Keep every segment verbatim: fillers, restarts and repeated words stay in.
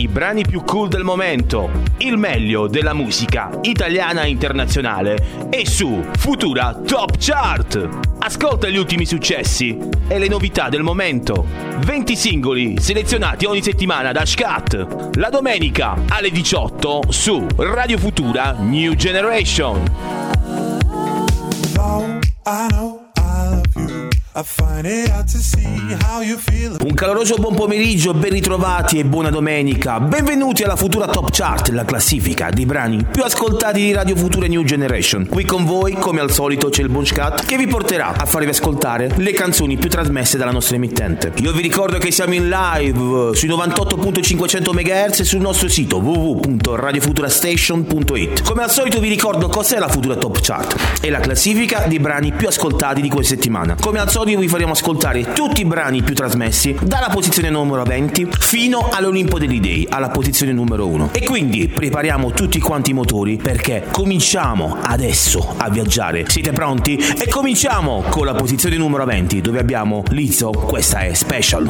I brani più cool del momento, il meglio della musica italiana e internazionale è su Futura Top Chart. Ascolta gli ultimi successi e le novità del momento. venti singoli selezionati ogni settimana da Scat. La domenica alle diciotto su Radio Futura New Generation. I know I love you. I find it out to see how you feel. Un caloroso buon pomeriggio, ben ritrovati e buona domenica. Benvenuti alla Futura Top Chart, la classifica dei brani più ascoltati di Radio Futura New Generation. Qui con voi, come al solito, c'è il buon Scat che vi porterà a farvi ascoltare le canzoni più trasmesse dalla nostra emittente. Io vi ricordo che siamo in live sui novantotto virgola cinquecento megahertz e sul nostro sito w w w punto radio futura station punto it. Come al solito vi ricordo cos'è la Futura Top Chart. È la classifica dei brani più ascoltati di questa settimana. Come al solito vi faremo ascoltare tutti i brani più trasmessi dalla posizione numero venti fino all'Olimpo degli Dei, alla posizione numero uno. E quindi prepariamo tutti quanti i motori perché cominciamo adesso a viaggiare. Siete pronti? E cominciamo con la posizione numero venti, dove abbiamo Lizzo, questa è Special.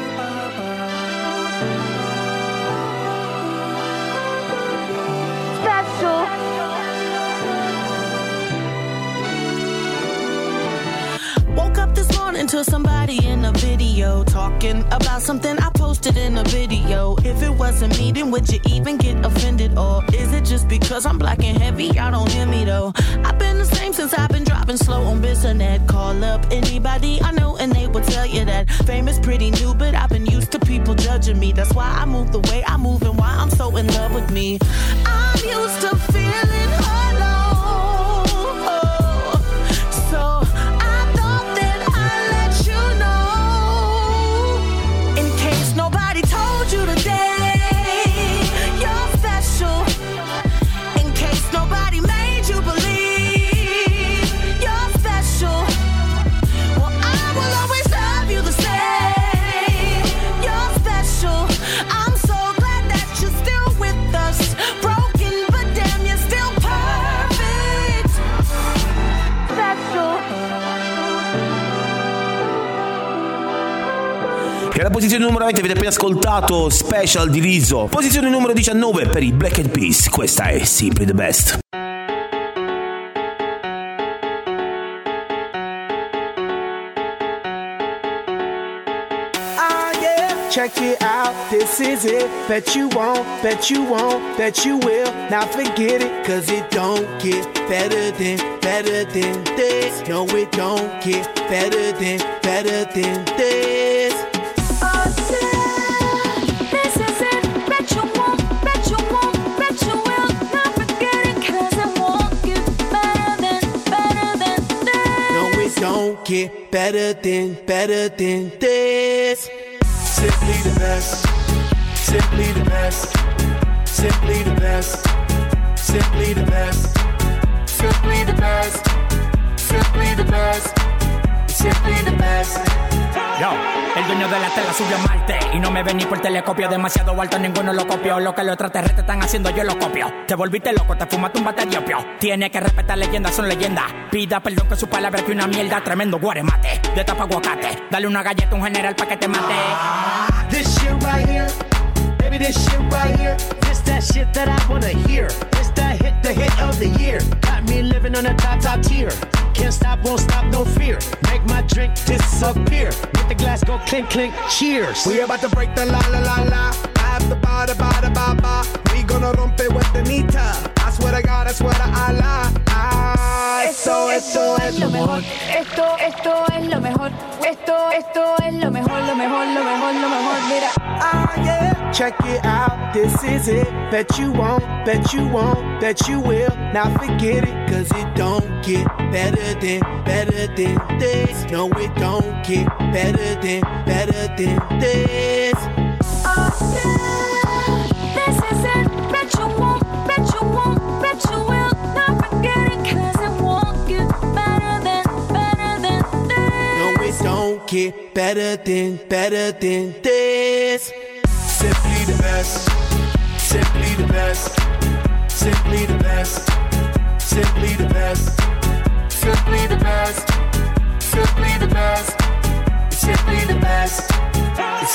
To somebody in a video talking about something I posted in a video. If it wasn't me, then would you even get offended? Or is it just because I'm black and heavy? Y'all don't hear me though. I've been the same since I've been driving slow on Bissonnet. Call up anybody I know and they will tell you that fame is pretty new, but I've been used to people judging me. That's why I move the way I move and why I'm so in love with me. I'm used to feeling alone, so E alla posizione numero venti avete appena ascoltato Special di Lizzo. Posizione numero diciannove per i Black Eyed Peas, questa è Simply the Best. Check it out, this is it. Bet you won't, bet you won't, bet you will. Now forget it, cause it don't get better than, better than this. No, it don't get better than, better than this. Oh, yeah, this is it. Bet you won't, bet you won't, bet you will. Now forget it, cause it won't get better than, better than this. No, it don't get better than, better than this. Simply the best, simply the best, simply the best, simply the best, simply the best, simply the best, simply the best. Yo, el dueño de la tela subió a Marte y no me ven ni por telescopio. Demasiado alto, ninguno lo copió. Lo que los extraterrestres están haciendo, yo lo copio. Te volviste loco, te fumaste un bate de opio. Tiene que respetar leyendas, son leyendas. Pida perdón que su palabra es que una mierda. Tremendo guaremate, de tapa aguacate. Dale una galleta a un general pa' que te mate. This shit right here, baby, this shit right here. This that shit that I wanna hear. This that hit, the hit of the year. Got me living on a top, top tier. Can't stop, won't stop, no fear. Make my drink disappear. Let the glass go clink, clink, cheers. We about to break the la la la la. I have the ba da ba da ba ba. We gonna rompe with the nita. I swear to God, I swear to Allah. Ah, esto, esto, esto es lo mejor. Esto, esto es lo mejor. Esto, esto es lo mejor, lo mejor, lo mejor, lo mejor. Mira. Ah, yeah. Check it out, this is it. Bet you won't, bet you won't, bet you will. Now forget it, cause it don't get better than, better than this. No, it don't get better than, better than this. Oh, yeah, this is it. Bet you won't, bet you won't, bet you will. Now forget it, cause it won't get better than, better than this. No, it don't get better than, better than this. Simply the best, simply the best, simply the best, simply the best, simply the best, simply the best, simply the best.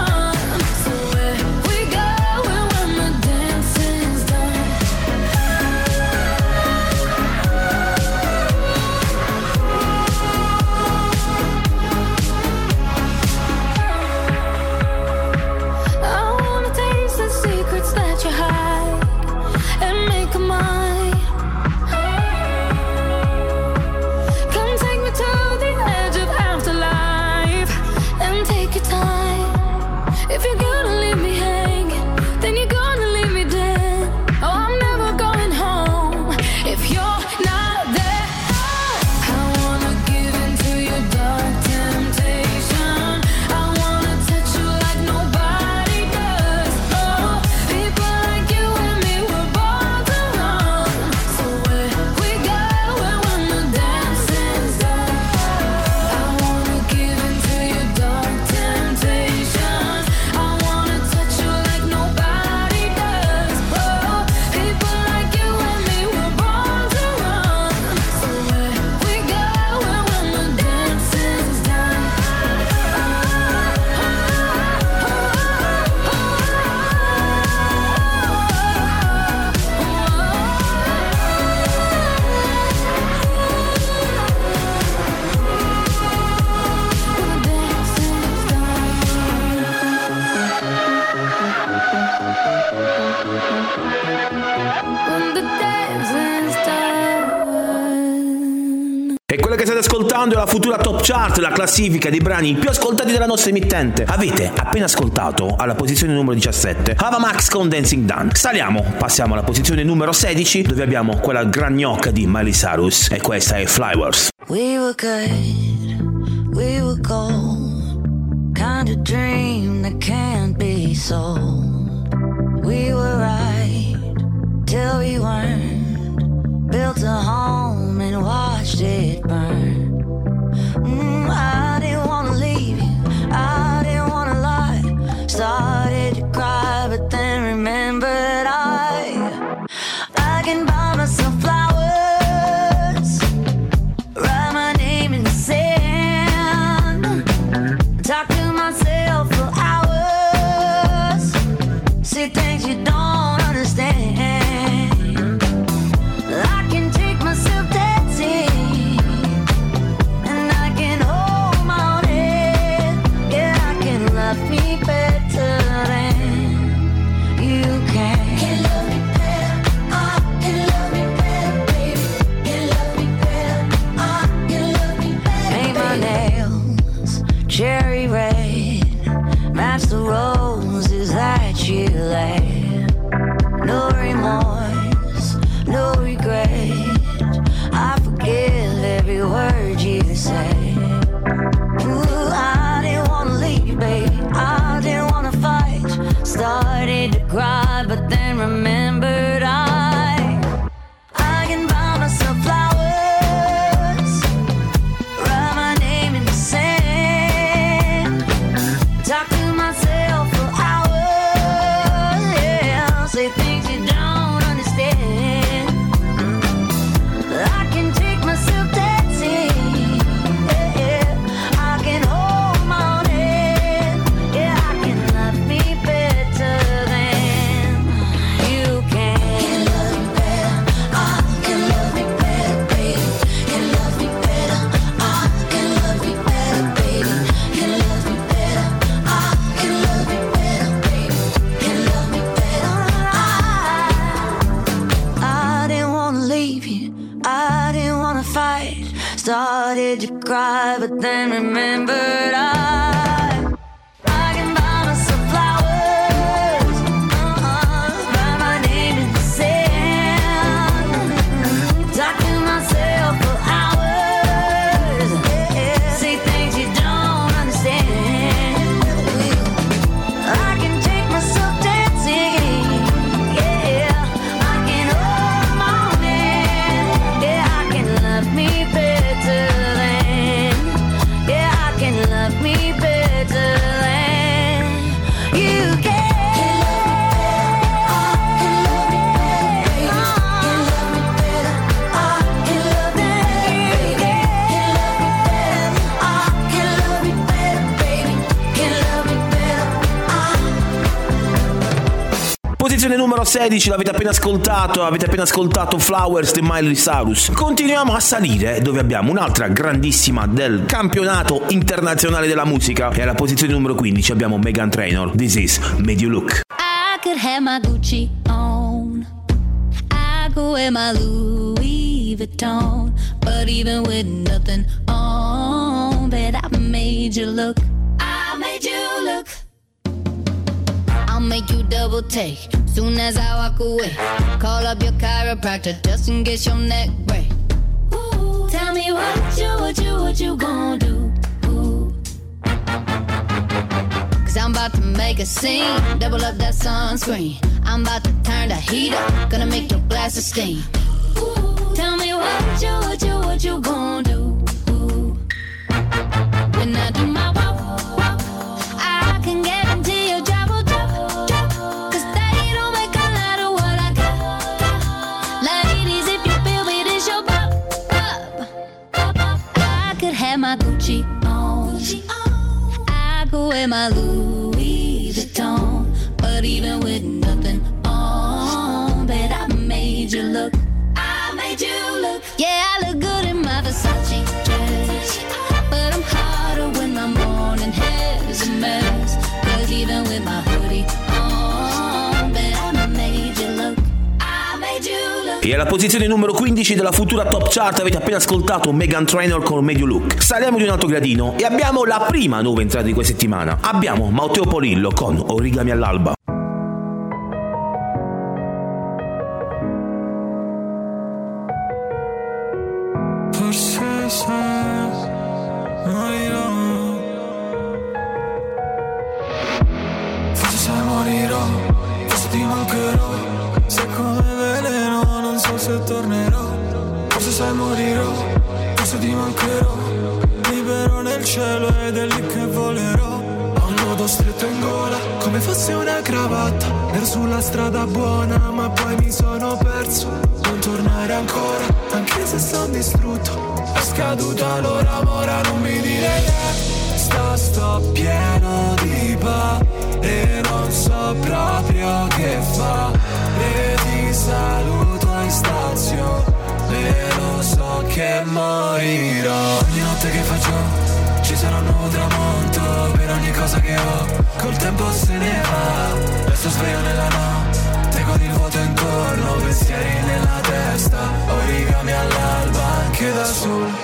ascoltando la futura Top Chart, la classifica dei brani più ascoltati della nostra emittente. Avete appena ascoltato alla posizione numero diciassette Ava Max con Dancing Dance. Saliamo, passiamo alla posizione numero sedici, dove abbiamo quella gran gnocca di Miley Cyrus, e questa è Flowers. We were good, we were gold, kind of dream that can't be sold. We were right till we weren't, built a home and watched it burn. Mm, I didn't wanna leave you, I didn't wanna lie, started to cry but then remembered I I can buy myself flowers, write my name in the sand, talk to myself for hours, say things you don't understand. I can take myself dancing, and I can hold my own head. Yeah, I can love me better than you can. Can love me better, I can love me better, baby. Can love me better, I can love me better. Paint my nails cherry red, match the roses that you laid. No remorse, no regret, I forgive every word you say. Ooh, I didn't wanna leave you, baby, I didn't wanna fight, started to cry but then remembered I I can buy myself flowers, write my name in the sand, talk to myself for hours, yeah, say things you don't understand. I can take myself dancing, yeah, yeah. I can hold my own head, yeah, I can love me better than you can. Can love me better, I can love me better, baby. Can love me better, I can love me better, baby. Can love me better, I can love me better, baby. Can love me better, I I didn't wanna leave you, I didn't wanna fight, started to cry but then remembered I I can buy myself flowers, uh-uh, write my name in the sand, talk to myself for hours, yeah, say things you don't understand. I can take myself dancing, yeah, I can hold my own hand, yeah, I can love me better than, yeah, I can love me better than you can. Can love me better, I can love me better, baby. Can love me better, I can love me better, I can love me better, baby. Can love me better, I Posizione numero sedici, l'avete appena ascoltato, avete appena ascoltato Flowers di Miley Cyrus. Continuiamo a salire, dove abbiamo un'altra grandissima del campionato internazionale della musica, e alla posizione numero quindici abbiamo Meghan Trainor, This Is Made You Look. I could have my Gucci on, I could wear my Louis Vuitton, but even with nothing on, bet I made you look. I made you look. I'll make you double take soon as I walk away. Call up your chiropractor just in case your neck break. Ooh, tell me what you, what you, what you gonna do? Ooh. Cause I'm about to make a scene, double up that sunscreen. I'm about to turn the heat up, gonna make your glasses steam. Ooh, tell me what you, what you, what you gonna do? Ooh. When I do my walk, walk, I can guarantee your job will drop, drop. Cause they don't make a lot of what I got, got. Ladies, if you feel me, this your pop, pop, pop. I could have my Gucci on, Gucci on. I could wear my Louis Vuitton, but even with nothing on, bet I made you look. I made you look. Yeah, I look good in my Versace dress, but I'm hotter when my morning hair's a mess. Cause even with my hoodie on, bet I made you look. I made you look. E alla posizione numero quindici della futura Top Chart avete appena ascoltato Meghan Trainor con Made You Look. Saliamo di un altro gradino e abbiamo la prima nuova entrata di questa settimana. Abbiamo Matteo Polillo con Origami all'alba. Forse sai, morirò. Forse sai morirò, forse ti mancherò. Sei come veleno, non so se tornerò. Forse sai morirò, forse ti mancherò. Libero nel cielo ed è lì che volerò. Ho un nodo stretto in gola, come fosse una cravatta. Ero sulla strada buona, ma poi mi sono perso. Non tornare ancora, anche se sono distrutto. È scaduta l'ora, ora non mi dire che sto, sto pieno di paure. Non so proprio che fare. Ti saluto in stazione, lo so che morirò. Ogni notte che faccio ci sarà un nuovo tramonto. Per ogni cosa che ho col tempo se ne va. Resto sveglio nella notte con il vuoto intorno. Pensieri nella testa, origami all'alba anche da solo.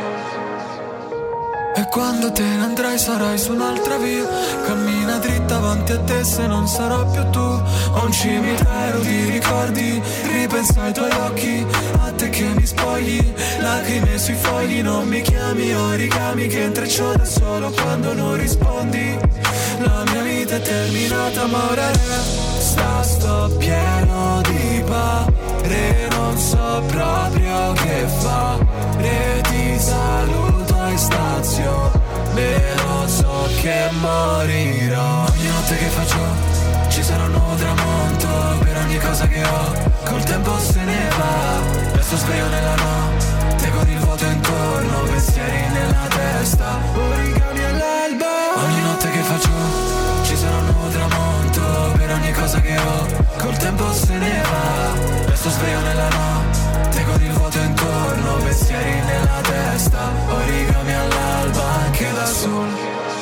E quando te ne andrai sarai su un'altra via. Cammina dritta avanti a te se non sarò più tu. Ho un cimitero di ricordi, ripenso ai tuoi occhi, a te che mi spogli, lacrime sui fogli. Non mi chiami origami che intreccio da solo quando non rispondi. La mia vita è terminata ma ora resta, sto pieno di paure. Non so proprio che fare. Ti saluto in stazione, lo so che morirò. Ogni notte che faccio ci sarà un nuovo tramonto. Per ogni cosa che ho col tempo se ne va. Resto sveglio nella notte con il vuoto intorno. Pensieri nella testa, origami all'alba. Ogni notte che faccio ci sarà un nuovo tramonto. Per ogni cosa che ho col tempo se ne va. Resto sveglio nella notte con il vuoto intorno. Pensieri nella testa, origami all'alba anche da solo.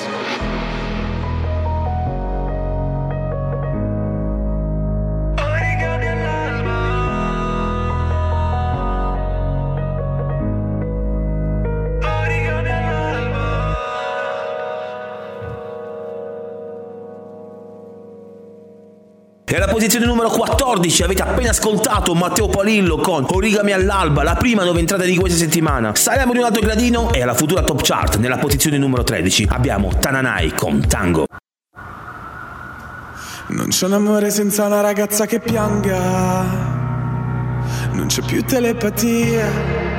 E alla posizione numero quattordici avete appena ascoltato Matteo Polillo con Origami all'alba, la prima nuova entrata di questa settimana. Saliamo di un altro gradino e alla futura Top Chart nella posizione numero tredici abbiamo Tananai con Tango. Non c'è un amore senza una ragazza che pianga, non c'è più telepatia.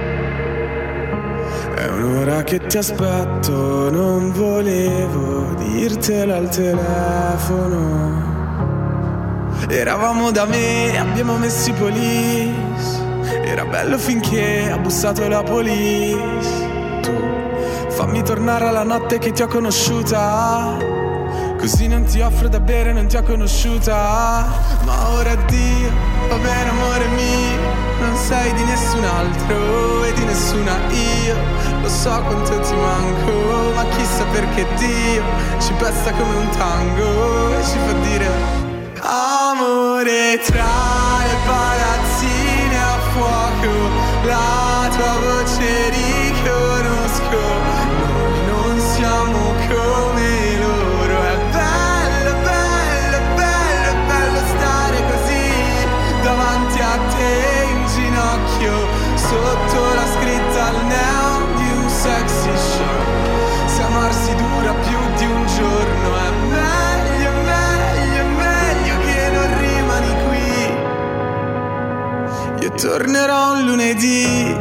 È un'ora che ti aspetto, non volevo dirtelo al telefono. Eravamo da me, abbiamo messo i police. Era bello finché ha bussato la police. Tu fammi tornare alla notte che ti ho conosciuta, così non ti offro da bere, non ti ho conosciuta. Ma ora addio, va bene amore mio. Non sei di nessun altro e di nessuna io. Lo so quanto ti manco, ma chissà perché Dio ci pesta come un tango e ci fa dire amore tra le palazzine a fuoco. La tua voce riconosco, noi non siamo come loro. È bello, bello, bello, bello stare così davanti a te in ginocchio, sotto la scritta al neon di un sexy show. Se amarsi dura più di un giorno è meglio, meglio, meglio che non rimani qui. Io tornerò un lunedì.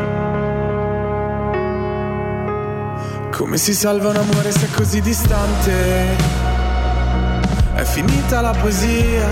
Come si salva un amore se è così distante? È finita la poesia.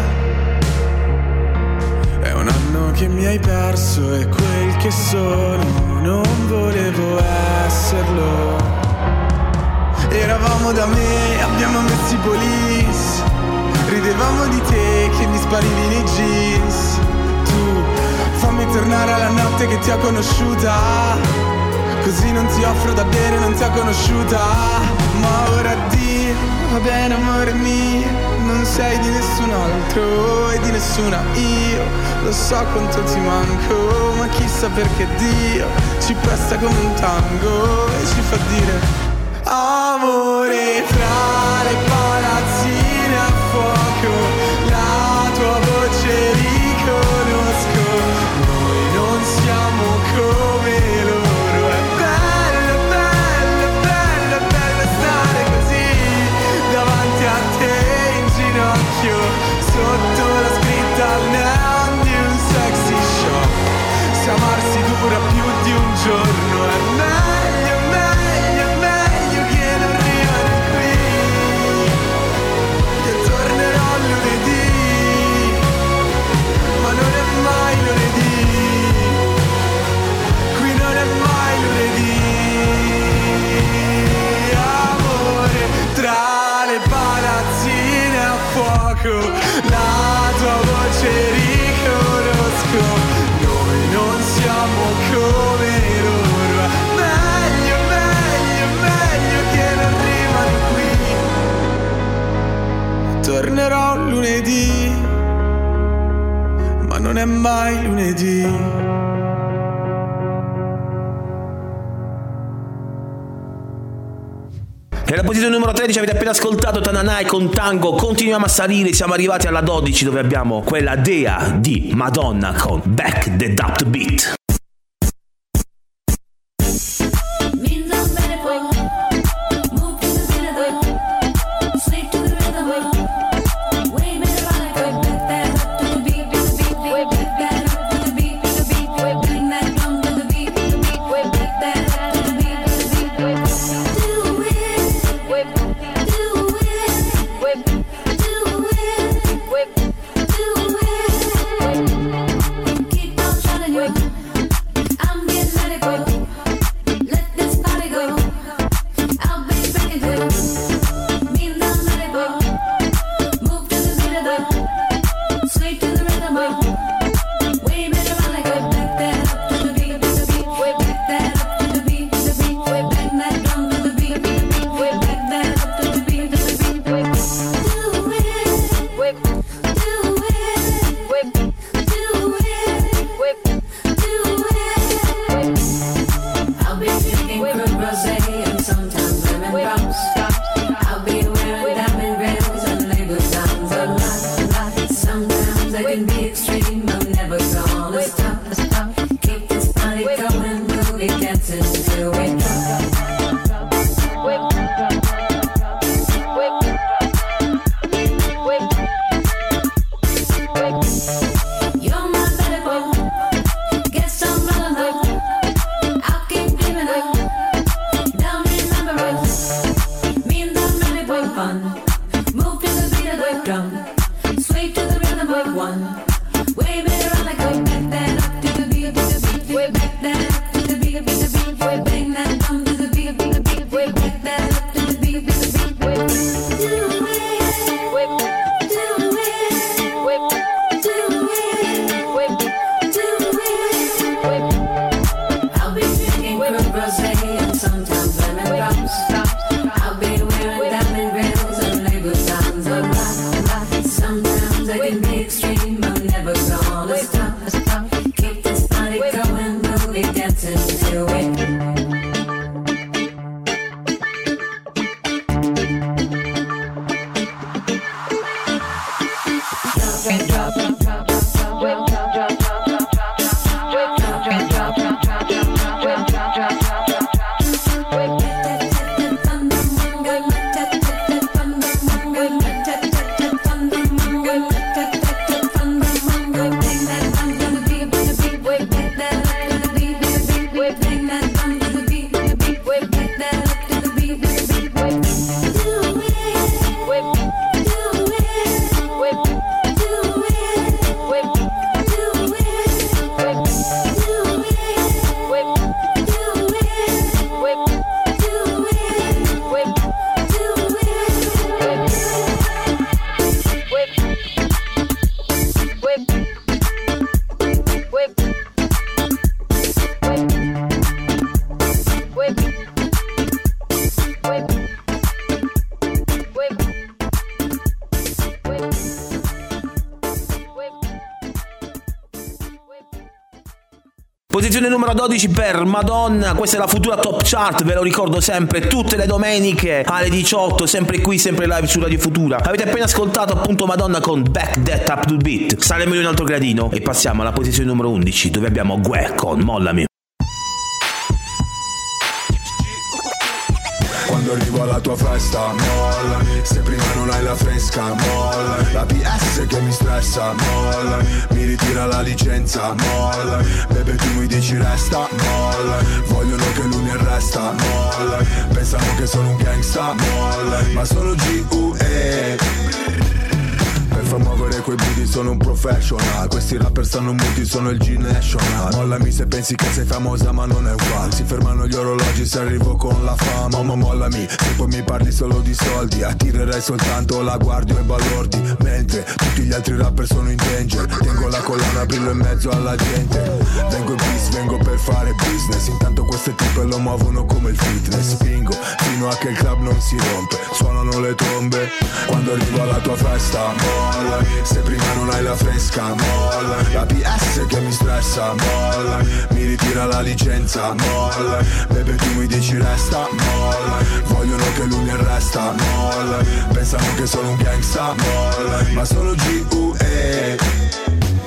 È un anno che mi hai perso e quel che sono non volevo esserlo. Eravamo da me, abbiamo messo i police. Ridevamo di te che mi sparivi nei jeans. Tu fammi tornare alla notte che ti ho conosciuta, così non ti offro da bere, non ti ho conosciuta. Ma ora addio, va bene amore mio, non sei di nessun altro e di nessuna io. Lo so quanto ti manco, ma chissà perché Dio ci presta come un tango e ci fa dire amore fra le palazzine a fuoco, la tua voce riconosco, noi non siamo come loro. È bello, bello, bello, bello stare così davanti a te in ginocchio, sotto la scritta al neon di un sexy shop. Se amarsi dura più di un giorno è meglio, meglio, meglio che non rimani qui. Io tornerò lunedì, ma non è mai lunedì, qui non è mai lunedì. Amore, tra le palazzine a fuoco, la tua voce riconosco, noi non siamo come loro. Meglio, meglio, meglio che non rimani qui. Tornerò lunedì, ma non è mai lunedì. Nella posizione numero tredici avete appena ascoltato Tananai con Tango. Continuiamo a salire, siamo arrivati alla dodici dove abbiamo quella dea di Madonna con Back the Daft Beat. Posizione numero dodici per Madonna, questa è la futura Top Chart, ve lo ricordo sempre, tutte le domeniche alle diciotto, sempre qui, sempre live su Radio Futura. Avete appena ascoltato appunto Madonna con Back That Up to Beat. Saliamo di un altro gradino e passiamo alla posizione numero undici, dove abbiamo Gue con Mollami. Quando arrivo alla tua festa, mollami. Se prima non hai la fresca, mollami. La P S che mi stressa, mollami. Mi ritira la licenza, mollami. Bebe tu mi dici resta, mollami. Vogliono che lui mi arresta, mollami. Pensano che sono un gangsta, mollami. Ma sono G U E. Per muovere quei booty sono un professional. Questi rapper stanno muti, sono il G-National. Mollami se pensi che sei famosa ma non è un fan. Si fermano gli orologi se arrivo con la fama. Ma mollami, se poi mi parli solo di soldi. Attirerei soltanto la guardia e balordi. Mentre tutti gli altri rapper sono in danger. Tengo la collana, brillo in mezzo alla gente. Vengo in peace, vengo per fare business. Intanto queste tipe lo muovono come il fitness. Spingo fino a che il club non si rompe. Suonano le trombe quando arrivo alla tua festa, mollami. Se prima non hai la fresca, mollami. La P S che mi stressa, mollami. Mi ritira la licenza, mollami. Bebe tu mi dici resta, mollami. Vogliono che lui mi arresta, mollami. Pensano che sono un gangsta, mollami. Ma sono G U E.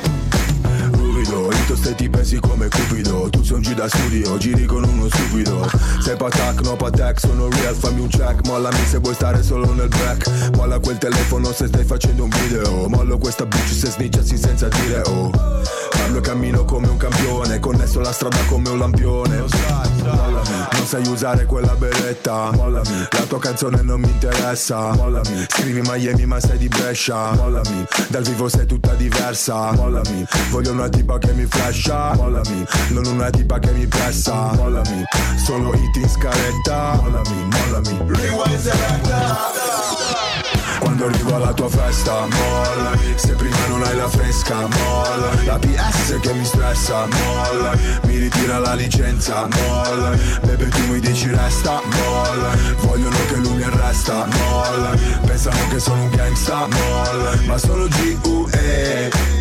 Io ste ti pesi come Cupido. Tu sei un G da studio, giri con uno stupido. Sei patak, no patek, sono real, fammi un check. Mollami se vuoi stare solo nel back. Molla quel telefono se stai facendo un video. Mollo questa bitch se snitchassi senza dire oh. Parlo e cammino come un campione, connesso la strada come un lampione. Lo sai, mollami, non sai usare quella beretta. Mollami, la tua canzone non mi interessa. Mollami, scrivi Miami ma sei di Brescia. Mollami, dal vivo sei tutta diversa. Mollami, voglio una tipa che mi flasha. Mollami, non una tipa che mi pressa. Mollami, solo hit in scaletta. Mollami, mollami, rewind selecta. Quando arrivo alla tua festa, mollami. Se prima non hai la fresca, mollami. La P S che mi stressa, mollami. Mi ritira la licenza, mollami. Bebe tu mi dici resta, mollami. Vogliono che lui mi arresta, mollami. Pensano che sono un gangsta, mollami. Ma sono G U E.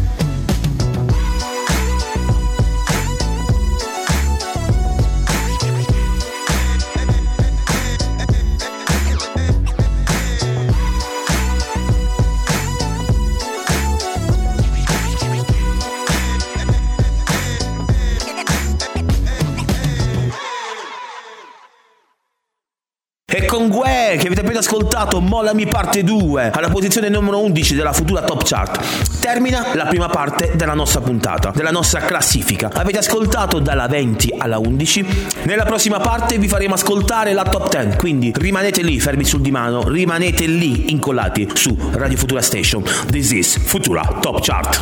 E con Gue, che avete appena ascoltato, Mollami parte due, alla posizione numero undici della futura Top Chart, termina la prima parte della nostra puntata, della nostra classifica. Avete ascoltato dalla venti alla undici. Nella prossima parte vi faremo ascoltare la Top dieci, quindi rimanete lì fermi sul divano, rimanete lì incollati su Radio Futura Station. This is Futura Top Chart.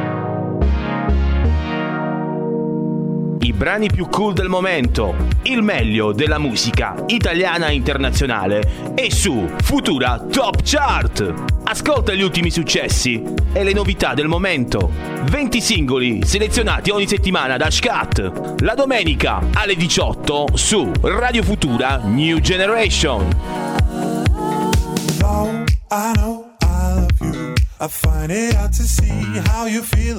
I brani più cool del momento, il meglio della musica italiana e internazionale è su Futura Top Chart. Ascolta gli ultimi successi e le novità del momento. venti singoli selezionati ogni settimana da Scat. La domenica alle diciotto su Radio Futura New Generation. Though I know I love you, I find it hard to see how you feel.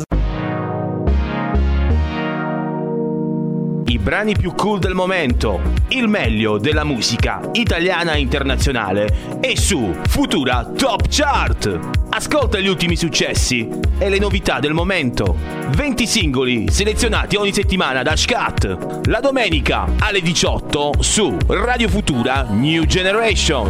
I brani più cool del momento, il meglio della musica italiana e internazionale è su Futura Top Chart. Ascolta gli ultimi successi e le novità del momento. venti singoli selezionati ogni settimana da Scat. La domenica alle diciotto su Radio Futura New Generation.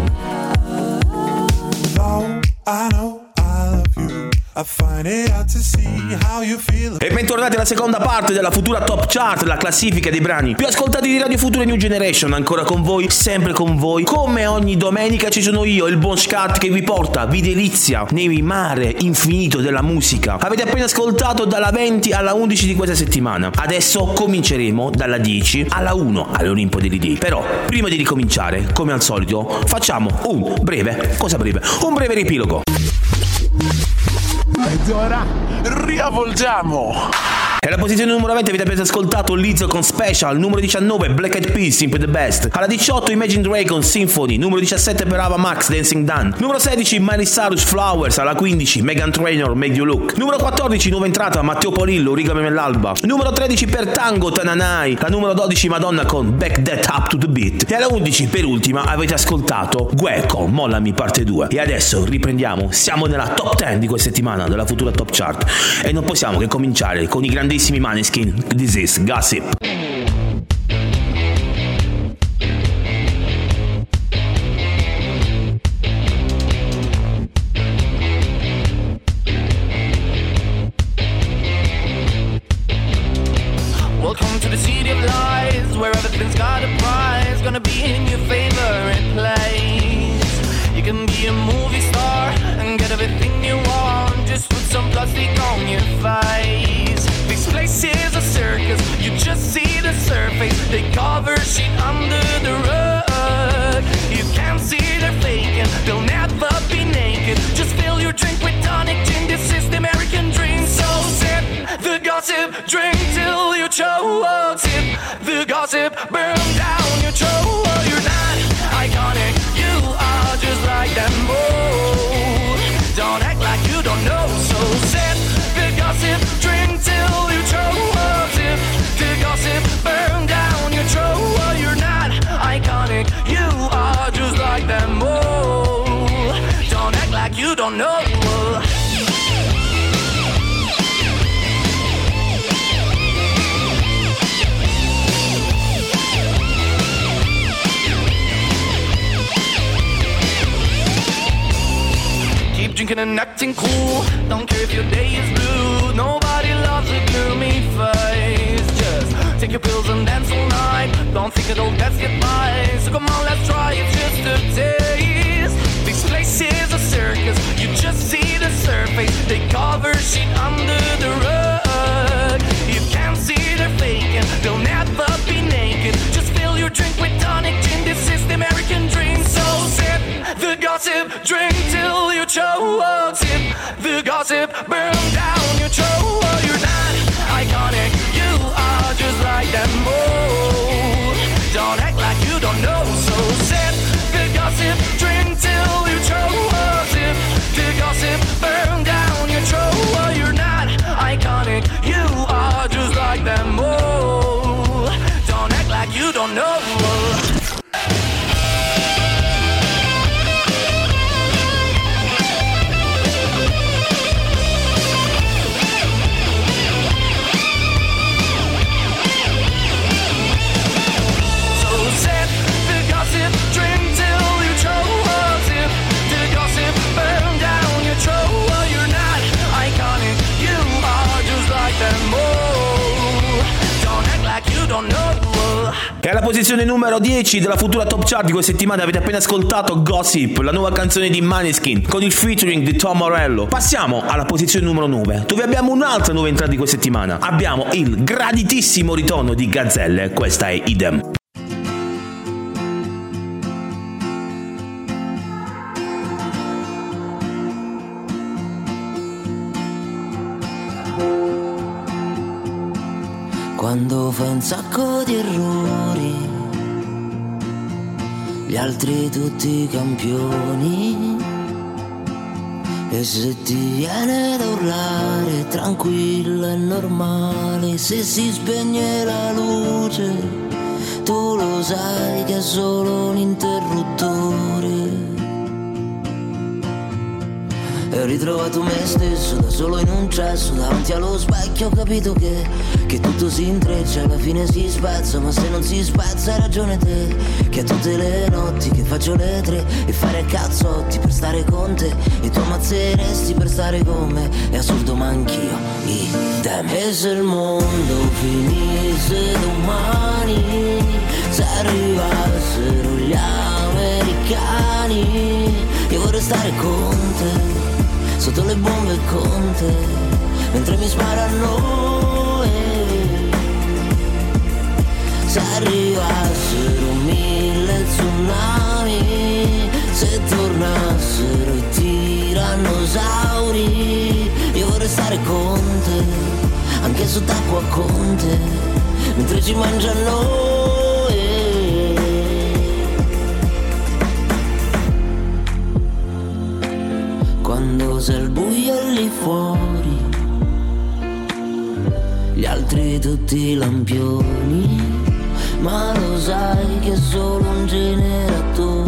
Though I know I love you, I find it hard to see how you feel. E bentornati alla seconda parte della Futura Top Chart, la classifica dei brani più ascoltati di Radio Futura New Generation. Ancora con voi, sempre con voi. Come ogni domenica ci sono io, il buon Scat, che vi porta, vi delizia nei mare infinito della musica. Avete appena ascoltato dalla venti alla undici di questa settimana. Adesso cominceremo dalla dieci alla uno all'Olimpo degli Dei. Però prima di ricominciare, come al solito, facciamo un breve, cosa breve? Un breve riepilogo. Ed ora riavvolgiamo. E alla posizione numero venti avete appena ascoltato Lizzo con Special. Numero diciannove Black Eyed Peas, Simple the Best. Alla diciotto Imagine Dragons, Symphony. Numero diciassette per Ava Max, Dancing Dan. Numero sedici Miley Cyrus, Flowers. Alla quindici Meghan Trainor, Make You Look. Numero quattordici nuova entrata Matteo Polillo, Rigami nell'alba. Numero tredici per Tango, Tananai. La numero dodici Madonna con Back That Up to the Beat. E alla undici per ultima avete ascoltato Gue con Mollami parte due. E adesso riprendiamo, siamo nella top dieci di questa settimana della Futura Top Chart e non possiamo che cominciare con i grandissimi Maneskin. This is Gossip. Welcome to the city of lies, where everything's got a prize, gonna be in your favorite place. You can be a movie star and get everything you want, just put some plastic on your face. This place is a circus, you just see the surface. They cover shit under the rug. You can't see they're faking, they'll never be naked. Just fill your drink with tonic gin, this is the American dream. So sip the gossip, drink till you choke. Sip the gossip, burn down your throat. You're not iconic, you are just like them both. Don't act like you don't know. So sip the gossip, drink till you choke. Sip the gossip, burn down your throat. You're not iconic, you are just like them both. Don't act like you don't know. Drinking and acting cool, don't care if your day is blue. Nobody loves a gloomy face. Just take your pills and dance all night. Don't think it'll best get by. So come on, let's try it just a taste. This place is a circus, you just see the surface. They cover shit under the rug. You can't see they're faking, they'll never be naked. Just fill your drink with tonic gin, this is the American dream. So sip the gossip, drink till you choke. Sip the gossip, burn down your throat. You're not iconic, you are just like them both. Don't act like you don't know. So sip the gossip, drink till you choke. Sip the gossip, burn down your throat. You're not iconic, you are just like them both. Don't act like you don't know. E alla posizione numero dieci della Futura Top Chart di questa settimana avete appena ascoltato Gossip, la nuova canzone di Maneskin con il featuring di Tom Morello. Passiamo alla posizione numero nove, dove abbiamo un'altra nuova entrata di questa settimana. Abbiamo il graditissimo ritorno di Gazzelle, questa è Idem. Quando fai un sacco di errori, gli altri tutti campioni, e se ti viene da urlare, tranquillo è normale. Se si spegne la luce, tu lo sai che è solo un interruttore. E ho ritrovato me stesso da solo in un cesso, davanti allo specchio ho capito che, che tutto si intreccia, alla fine si spezza, ma se non si spezza hai ragione te, che a tutte le notti che faccio le tre e fare cazzotti per stare con te, e tu ammazzeresti per stare con me, è assurdo ma anch'io idem. E se il mondo finisse domani, se arrivassero gli americani, io vorrei stare con te, sotto le bombe con te, mentre mi sparano. Se arrivassero mille tsunami, se tornassero i tirannosauri, io vorrei stare con te, anche sott'acqua con te, mentre ci mangia a noi. Quando sei al buio lì fuori, gli altri tutti lampioni, ma lo sai che è solo un generatore.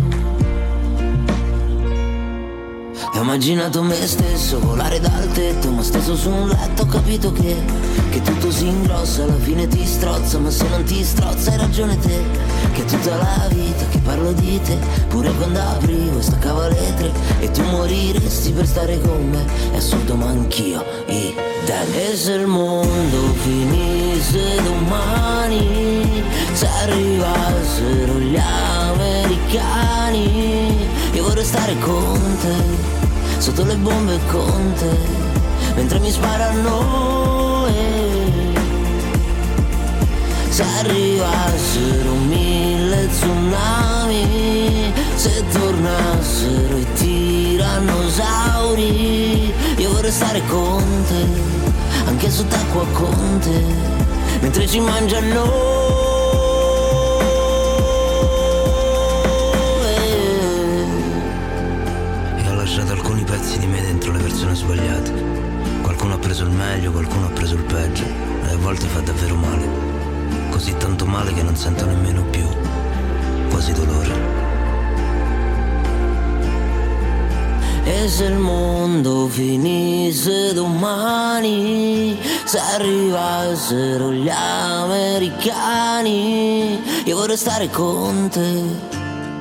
E ho immaginato me stesso volare dal tetto, ma steso su un letto ho capito che Che tutto si ingrossa, alla fine ti strozza, ma se non ti strozza hai ragione te. Che tutta la vita che parlo di te, pure quando aprivo e staccavo le tre, e tu moriresti per stare con me, è assurdo ma anch'io idem. E se il mondo finisse domani, se arrivassero gli americani, io vorrei stare con te, sotto le bombe con te, mentre mi sparano. Se arrivassero mille tsunami, se tornassero i tirannosauri, io vorrei stare con te, anche sott'acqua con te, mentre ci mangiano. Alcuni pezzi di me dentro le persone sbagliate. Qualcuno ha preso il meglio, qualcuno ha preso il peggio, e a volte fa davvero male, così tanto male che non sento nemmeno più quasi dolore. E se il mondo finisse domani, se arrivassero gli americani, io vorrei stare con te.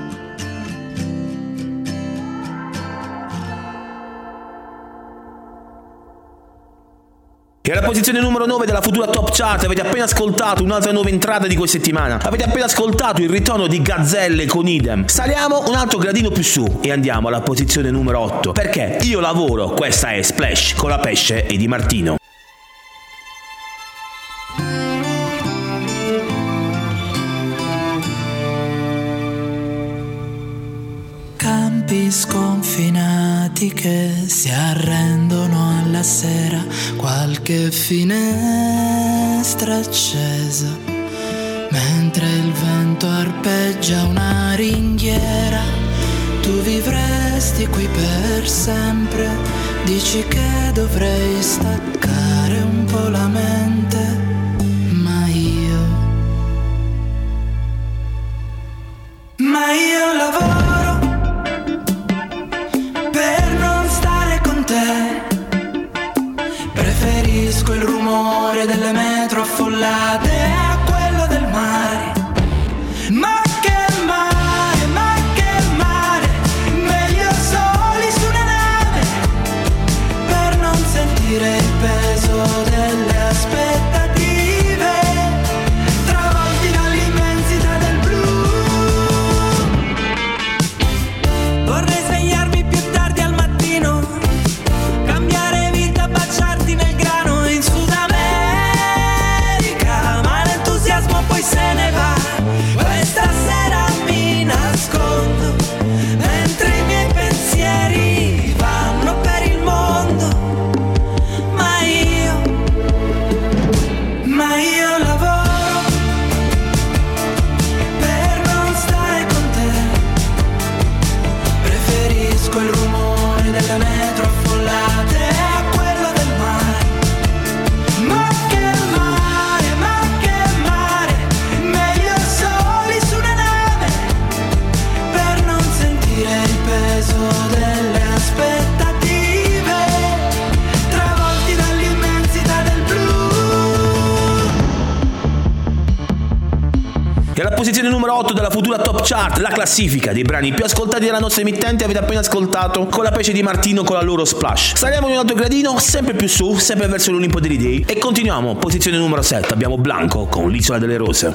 E alla posizione numero nove della futura Top Chart avete appena ascoltato un'altra nuova entrata di questa settimana. Avete appena ascoltato il ritorno di Gazzelle con Idem. Saliamo un altro gradino più su e andiamo alla posizione numero otto. Perché io lavoro, questa è Splash con la Pesce e Di Martino. Campi sconfinati che si arrendono alla sera, qualche finestra accesa, mentre il vento arpeggia una ringhiera. Tu vivresti qui per sempre, dici che dovrei staccare un po' la mente, ma io, ma io lavoro per non stare con te. Preferisco il rumore delle metro affollate a quello del mare. Ma che mare, ma che mare, meglio soli su una nave, per non sentire il peso delle aspettative, travolti dall'immensità del blu. Vorrei svegliarmi più tardi al mattino, cambiare vita, baciarti nel grano in Sud America, ma l'entusiasmo poi se ne va. Questa sera mi nascondo, mentre i miei pensieri vanno per il mondo, ma io, ma io lavoro per non stare con te. Preferisco il rumore delle metro affollate a quello del mare. Ma che mare, ma che mare, meglio soli su una nave, per non sentire il peso delle aspettative, travolti dall'immensità del blu. E alla posizione numero otto della futura Top Chart, la classifica dei brani più ascoltati dalla nostra emittente, avete appena ascoltato Con la Pesce Di Martino con la loro Splash. Saliamo in un altro gradino, sempre più su, sempre verso l'Olimpo dei Dei, e continuiamo. Posizione numero sette, abbiamo Blanco con l'Isola delle Rose.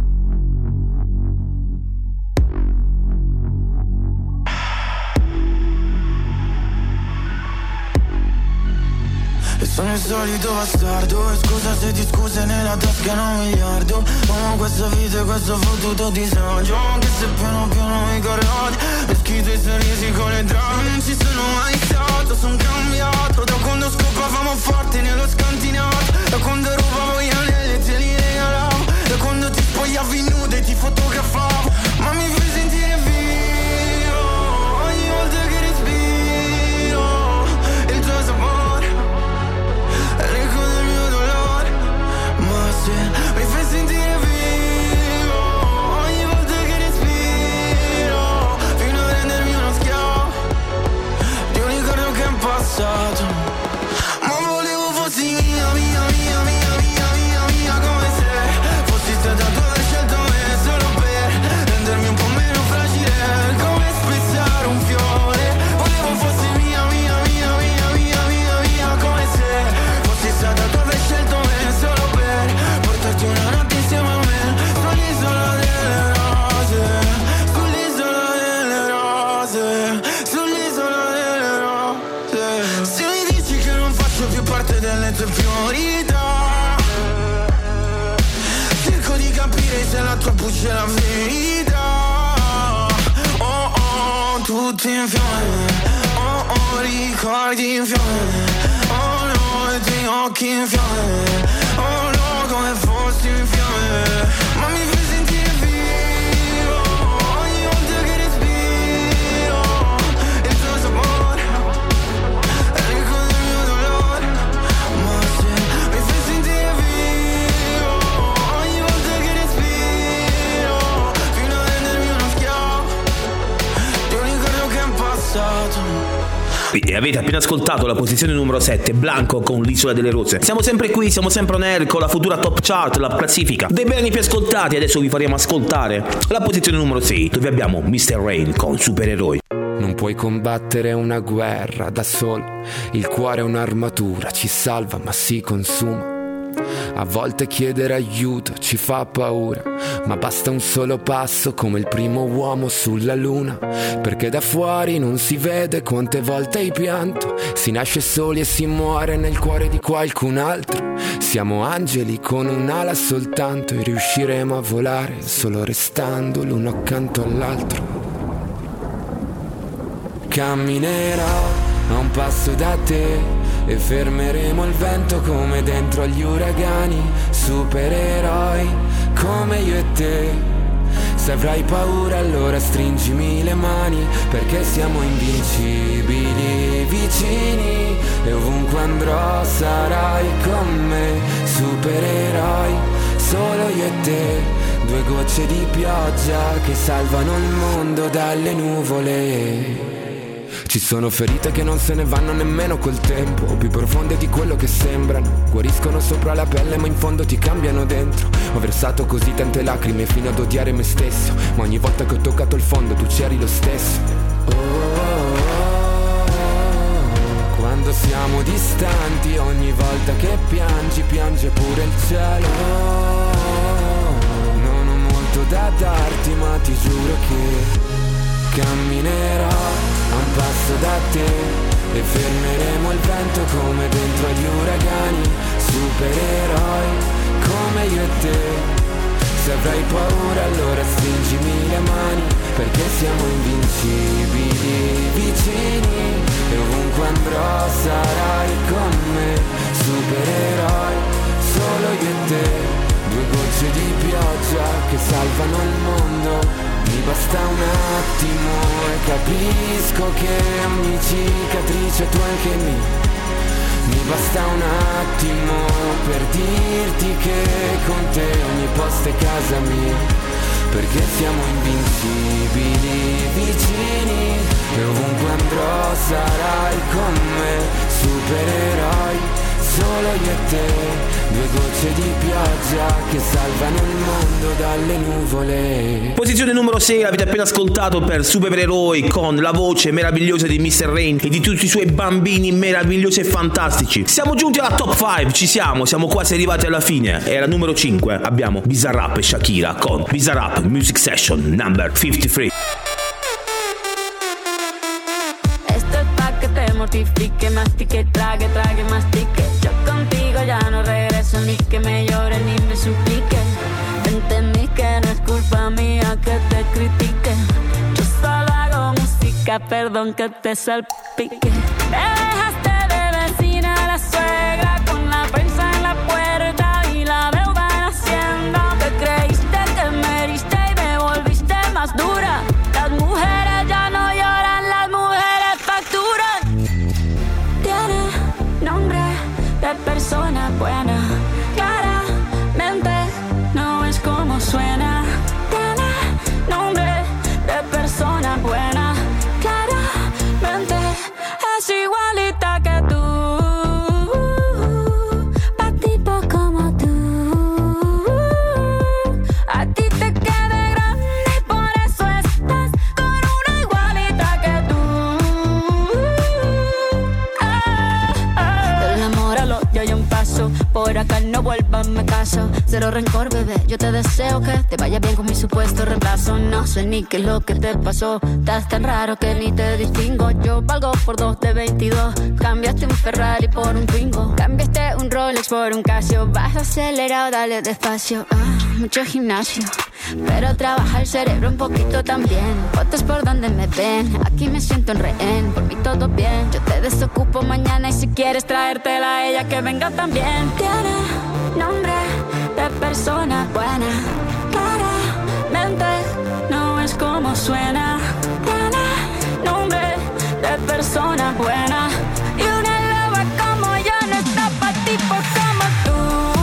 E sono il solito bastardo, e scusa se ti scuse nella tasca un miliardo. Amo questa vita e questo fottuto disagio, anche se piano piano mi corrodi, e schito i sorrisi con le drame. Non ci sono mai stato, son cambiato da quando scopavamo forte nello scantinato. tue priorità. Cerco di capire se la tua voce è la verità. Oh oh, tutti in fiamme. Oh oh, ricordi in fiamme. Oh no, i tuoi occhi in fiamme. Oh no, come fossi in fiamme. Ma mi fai sentire vivo ogni volta che respiro. Il tuo sapore è l'eco del mio dolore. Ma se mi fai sentire vivo ogni volta che respiro, fino a rendermi uno schiavo di un ricordo che è passato. E avete appena ascoltato la posizione numero sette, Blanco con l'Isola delle Rose. Siamo sempre qui, siamo sempre on air con la futura top chart, la classifica dei brani più ascoltati. Adesso vi faremo ascoltare la posizione numero sei, dove abbiamo mister Rain con Supereroi. Non puoi combattere una guerra da solo, il cuore è un'armatura, ci salva ma si consuma. A volte chiedere aiuto ci fa paura, ma basta un solo passo come il primo uomo sulla luna. Perché da fuori non si vede quante volte hai pianto, si nasce soli e si muore nel cuore di qualcun altro. Siamo angeli con un'ala soltanto e riusciremo a volare solo restando l'uno accanto all'altro. Camminerò a un passo da te e fermeremo il vento come dentro agli uragani. Supereroi come io e te. Se avrai paura allora stringimi le mani, perché siamo invincibili vicini e ovunque andrò sarai con me. Supereroi solo io e te, due gocce di pioggia che salvano il mondo dalle nuvole. Ci sono ferite che non se ne vanno nemmeno col tempo, più profonde di quello che sembrano. Guariscono sopra la pelle ma in fondo ti cambiano dentro. Ho versato così tante lacrime fino ad odiare me stesso, ma ogni volta che ho toccato il fondo tu c'eri lo stesso. Oh, oh, oh, oh. Quando siamo distanti, ogni volta che piangi, piange pure il cielo. Oh, oh, non ho molto da darti ma ti giuro che camminerò a un passo da te e fermeremo il vento come dentro agli uragani. Supereroi come io e te. Se avrai paura allora stringimi le mani, perché siamo invincibili vicini e ovunque andrò sarai con me. Supereroi solo io e te, due gocce di pioggia che salvano il mondo. Mi basta un attimo e capisco che ogni cicatrice tu anche mi. Mi basta un attimo per dirti che con te ogni posto è casa mia, perché siamo invincibili vicini e ovunque andrò sarai con me. Supereroi solo io e te, due gocce di pioggia che salvano il mondo dalle nuvole. Posizione numero sei, l'avete appena ascoltato per Supereroi con la voce meravigliosa di mister Rain e di tutti i suoi bambini meravigliosi e fantastici. Siamo giunti alla top cinque, ci siamo, siamo quasi arrivati alla fine. E alla numero cinque abbiamo Bizarrap e Shakira con Bizarrap Music Session number cinquantatré. Esto es pa' que te mortifique, mastique, trague, trague, mastique. Yo contigo ya no regreso, ni que me llore ni me suplique. Entendí que no es culpa mía que te critique. Yo solo hago música, perdón que te salpique. Me dejaste de vecina a la suegra con la prensa en la puerta y la deuda en Hacienda. Te creíste que me heriste y me volviste más dura. Las mujeres ya no lloran, las mujeres facturan. Tiene nombre de persona buena, claramente no es como suena. Tiene nombre de persona buena, claramente es espera que no vuelva, me caso. Cero rencor, bebé, yo te deseo que te vaya bien con mi supuesto reemplazo. No sé ni qué es lo que te pasó, estás tan raro que ni te distingo. Yo valgo por dos de veintidós, cambiaste un Ferrari por un Twingo, cambiaste un Rolex por un Casio. Vas acelerado, dale despacio. Ah, mucho gimnasio, pero trabaja el cerebro un poquito también. Fotos por donde me ven, aquí me siento en rehén. Por mí todo bien, yo te desocupo mañana. Y si quieres traértela a ella, que venga también. Tiene nombre de persona buena, claramente no es como suena. Tiene nombre de persona buena, y una loba como yo no está pa' tipos como tú.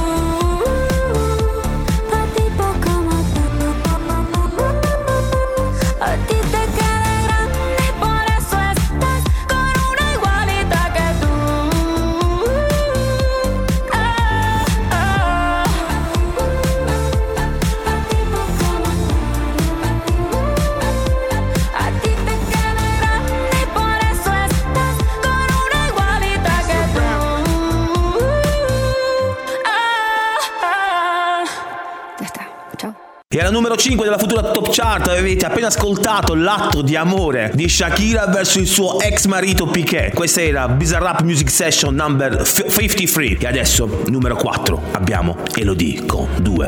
E alla numero cinque della futura Top Chart avete appena ascoltato L'atto di amore di Shakira verso il suo ex marito Piqué. Questa era Bizarrap Music Session number cinquantatré. E adesso, numero quattro, abbiamo Elodie con due.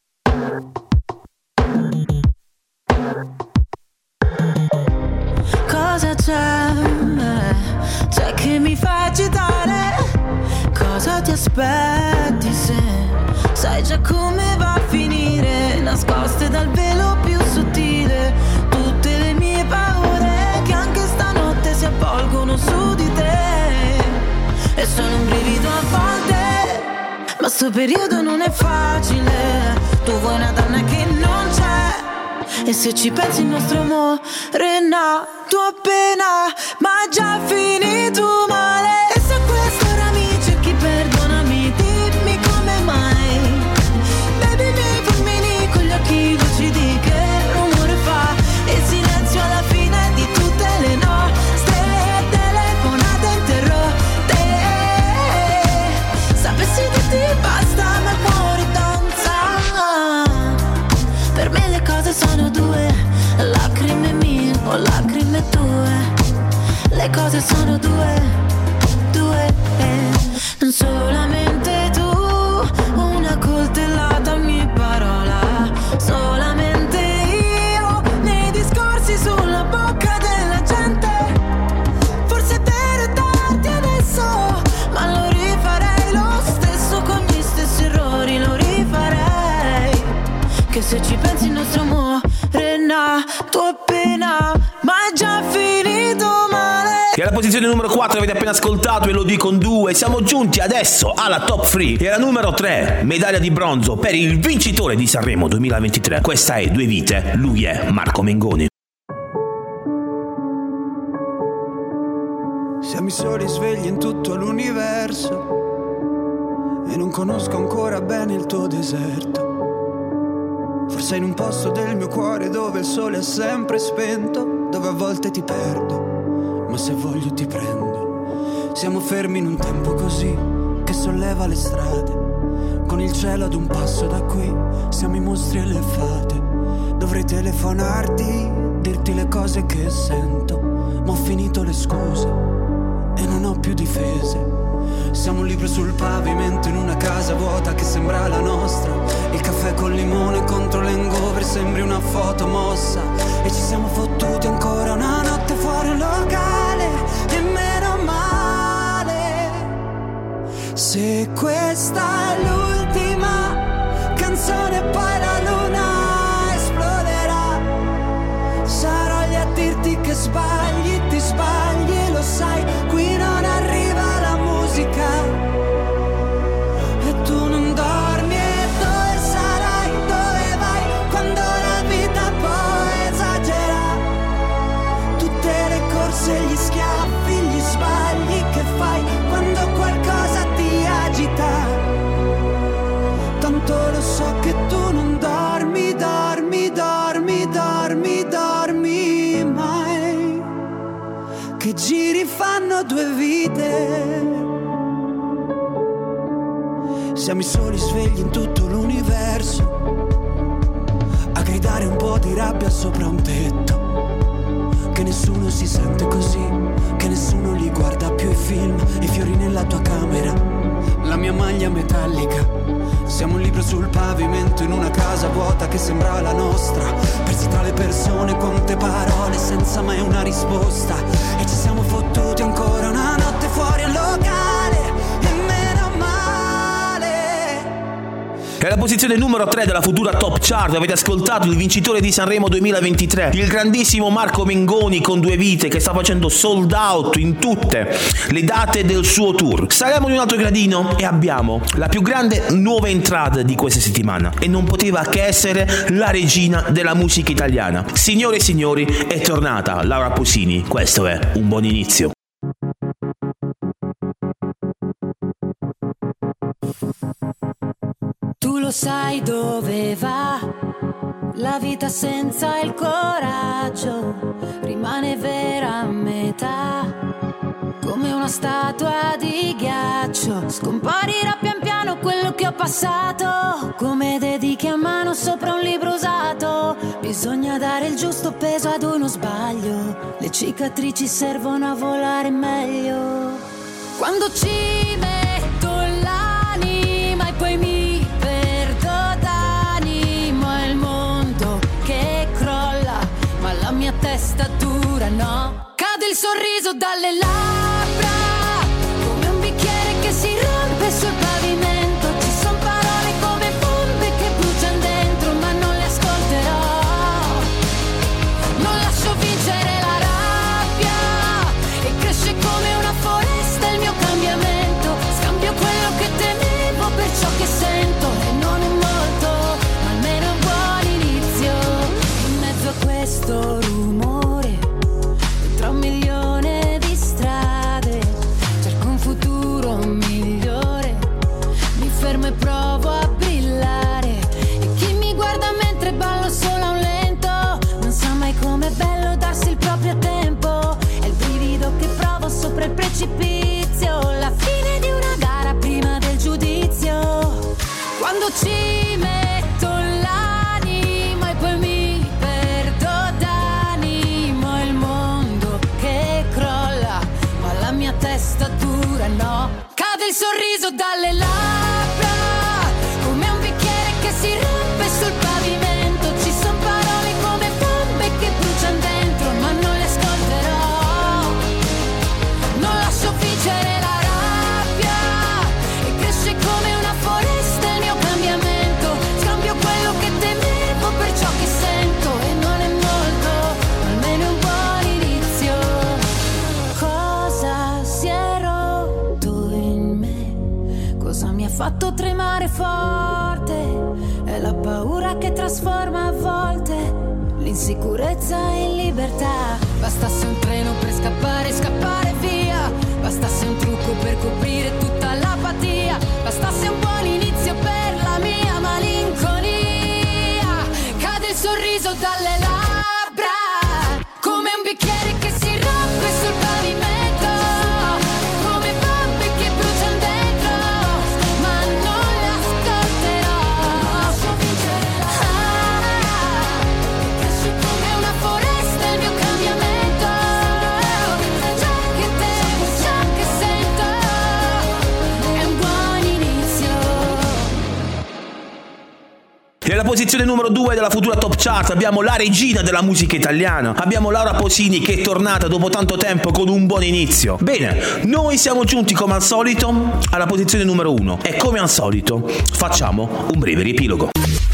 Cosa c'è? C'è che mi fa agitare? Cosa ti aspetti se sai già come va a finire? Nascoste dal velo più sottile tutte le mie paure che anche stanotte si avvolgono su di te. E sono un brivido a volte, ma sto periodo non è facile. Tu vuoi una donna che non c'è, e se ci pensi il nostro amore è nato appena, ma già finito male. E se a quest'ora mi cerchi, perdonami, dimmi come mai. Baby, i miei fulmini con gli occhi lucidi, che rumore fa il silenzio alla fine di tutte le nostre telefonate interrotte. Sapessi dirti basta, ma il cuore danza. Per me le cose sono due, lacrime mie o lacrime tue. Le cose sono due, due, non solamente tu. Una coltellata ogni parola, solamente io nei discorsi sulla bocca della gente. Forse per darti adesso, ma lo rifarei lo stesso con gli stessi errori, lo rifarei. Che se ci pensi il nostro amore è nato appena, ma è già finito male. E alla posizione numero quattro avete appena ascoltato Elodie con due. Siamo giunti adesso alla top tre. E alla numero tre, medaglia di bronzo per il vincitore di Sanremo duemilaventitré. Questa è Due Vite, lui è Marco Mengoni. Siamo i soli svegli in tutto l'universo e non conosco ancora bene il tuo deserto. Forse in un posto del mio cuore dove il sole è sempre spento, dove a volte ti perdo, ma se voglio ti prendo. Siamo fermi in un tempo così che solleva le strade, con il cielo ad un passo da qui. Siamo i mostri e le fate. Dovrei telefonarti, dirti le cose che sento, ma ho finito le scuse e non ho più difese. Siamo un libro sul pavimento in una casa vuota che sembra la nostra. Il caffè col limone contro l'hangover sembri una foto mossa. E ci siamo fottuti ancora una notte fuori un locale, e meno male. Se questa è l'ultima canzone poi la luna esploderà. Sarò lì a dirti che sbagli, ti sbagli e lo sai. Qui non arriva la musica e tu non dormi. E dove sarai, dove vai, quando la vita poi esagera? Tutte le corse, gli schiaffi, gli sbagli che fai quando qualcosa ti agita. Tanto lo so che tu non dormi, dormi, dormi, dormi, dormi mai. Che giri fanno due vite. Siamo i soli svegli in tutto l'universo, a gridare un po' di rabbia sopra un tetto. Che nessuno si sente così, che nessuno li guarda più i film, i fiori nella tua camera, la mia maglia metallica. Siamo un libro sul pavimento in una casa vuota che sembra la nostra, persi tra le persone, quante parole senza mai una risposta. E ci siamo fottuti ancora una notte fuori al locale, e meno male. È la posizione numero tre della futura Top Chart. Avete ascoltato il vincitore di Sanremo duemilaventitré, il grandissimo Marco Mengoni con Due Vite, che sta facendo sold out in tutte le date del suo tour. Saliamo di un altro gradino e abbiamo la più grande nuova entrata di questa settimana, e non poteva che essere la regina della musica italiana. Signore e signori, è tornata Laura Pausini. Questo è Un Buon Inizio. Tu lo sai dove va la vita senza il coraggio, rimane vera a metà, come una statua di ghiaccio. Scomparirà pian piano quello che ho passato, come dedichi a mano sopra un libro usato. Bisogna dare il giusto peso ad uno sbaglio, le cicatrici servono a volare meglio. Quando ci metto l'anima e poi mi mia testa dura, no? Cade il sorriso dalle labbra, come un bicchiere che si rompe sul pavimento. Ci son parole come bombe che bruciano dentro, ma non le ascolterò. Non lascio vincere la rabbia, e cresce come una foresta il mio cambiamento. Scambio quello che temevo per ciò che sento, e non è molto, ma almeno è un buon inizio. In mezzo a questo rumore, tra un milione di strade, cerco un futuro migliore. Mi fermo e provo a brillare, e chi mi guarda mentre ballo solo a un lento non sa mai com'è bello darsi il proprio tempo. È il brivido che provo sopra il precipizio, la fine di una gara prima del giudizio. Quando ci metto l'anima e poi mi perdo d'animo, è il mondo che crolla, ma la mia testa dura, no? Cade il sorriso dalle labbra, come un bicchiere che si rompe sul pavimento. Ci son parole come bombe che bruciano dentro, ma non le ascolterò. Non lascio vincere la rabbia, e cresce come una foresta il mio cambiamento. Scambio quello che temevo per ciò che sento, e non è molto, ma almeno è un buon inizio. Cosa si è rotto in me? Cosa mi ha fatto tremare forte? È la paura che trasforma a volte l'insicurezza in libertà. Bastasse un treno per scappare, scappare via. Bastasse un trucco per coprire tutta l'apatia. Bastasse un buon inizio per la mia malinconia. Cade il sorriso dalle labbra, come un bicchiere che si rompe sul pavimento, come bombe che bruciano dentro, ma non le ascolterò. Ah, cresce come una foresta il mio cambiamento. Ciò che temo, ciò che sento, è un buon inizio. E alla posizione numero due della futura Top Chart abbiamo la regina della musica italiana. Abbiamo Laura Pausini, che è tornata dopo tanto tempo con Un Buon Inizio. Bene, noi siamo giunti come al solito alla posizione numero uno, e come al solito facciamo un breve riepilogo.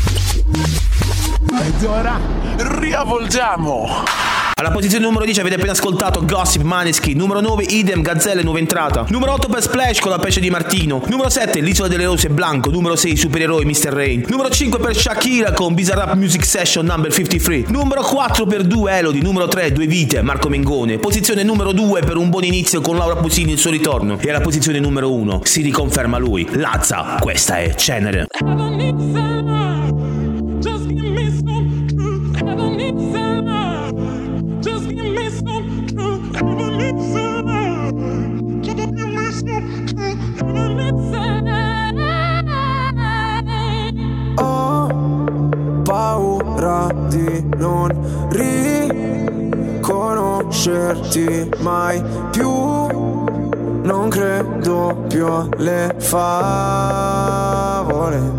Ed ora riavvolgiamo. Alla posizione numero dieci avete appena ascoltato Gossip Maneskin. Numero nove Idem, Gazzelle, nuova entrata. Numero otto per Splash con La Pesce di Martino. Numero sette L'Isola delle Rose, Blanco. Numero sei Supereroi, mister Rain. Numero cinque per Shakira con Bizarrap Music Session number cinquantatré. Numero quattro per Due Elodie. Numero tre Due Vite, Marco Mengone. Posizione numero due per Un Buon Inizio con Laura Pausini, il suo ritorno. E alla posizione numero uno si riconferma lui, Lazza. Questa è Cenere. Just give me some truth. I don't need some love. Just give me some truth. I don't need some love. Just give me some truth. I don't need some love. conoscerti mai più. Non credo più alle favole.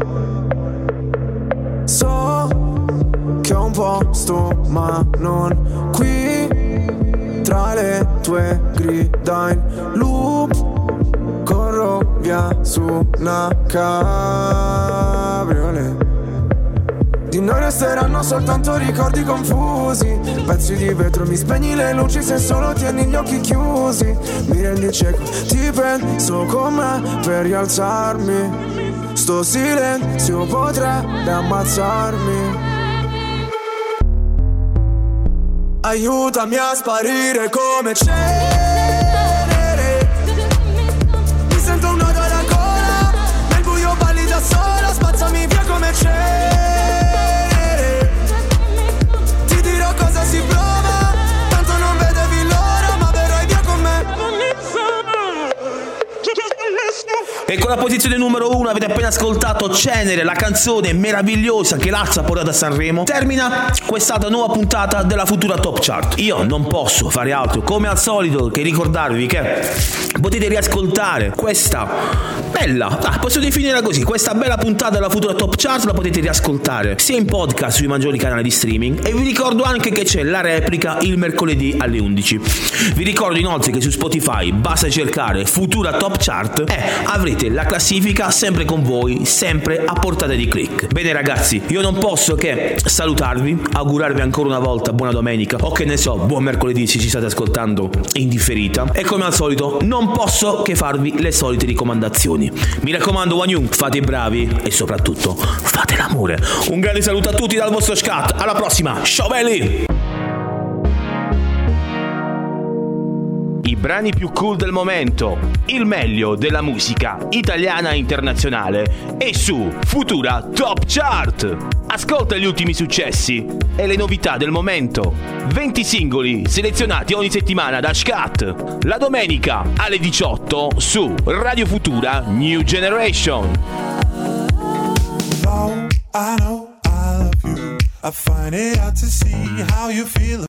So che ho un posto ma non qui. Tra le tue grida in loop corro via su una cabriolet. Di noi resteranno soltanto ricordi confusi, pezzi di vetro, mi spegni le luci se solo tieni gli occhi chiusi. Mi rendi cieco, ti penso con me per rialzarmi. Sto silenzio potrebbe ammazzarmi. Aiutami a sparire come cenere. Mi sento un nodo alla gola, nel buio balli da sola, spazzami via come cenere. Ti dirò cosa si prova, tanto non vedevi l'ora, ma verrai via con me. E con la posizione numero uno avete appena ascoltato Cenere, la canzone meravigliosa che Lazza ha portato a Sanremo. Termina quest'altra nuova puntata della Futura Top Chart. Io non posso fare altro, come al solito, che ricordarvi che potete riascoltare questa bella, ah, posso definirla così, questa bella puntata della Futura Top Chart la potete riascoltare sia in podcast sui maggiori canali di streaming, e vi ricordo anche che c'è la replica il mercoledì alle undici. Vi ricordo inoltre che su Spotify basta cercare Futura Top Chart e avrete la classifica sempre con voi, sempre a portata di click. Bene ragazzi, io non posso che salutarvi, augurarvi ancora una volta buona domenica o che ne so, buon mercoledì se ci state ascoltando in differita, e come al solito non posso che farvi le solite raccomandazioni. Mi raccomando, Wanyun, fate i bravi e soprattutto fate l'amore. Un grande saluto a tutti dal vostro Scat, alla prossima, ciao belli! I brani più cool del momento, il meglio della musica italiana e internazionale è su Futura Top Chart. Ascolta gli ultimi successi e le novità del momento. venti singoli selezionati ogni settimana da Scat. La domenica alle diciotto su Radio Futura New Generation. Though I know I love you, I find it hard to see how you feel.